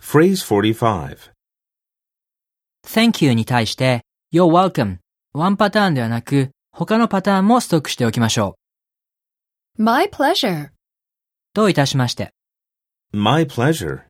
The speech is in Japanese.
Phrase 45. Thank you に対して You're welcome ワンパターンではなく他のパターンもストックしておきましょ My pleasure. う。どういたしまして。 My pleasure.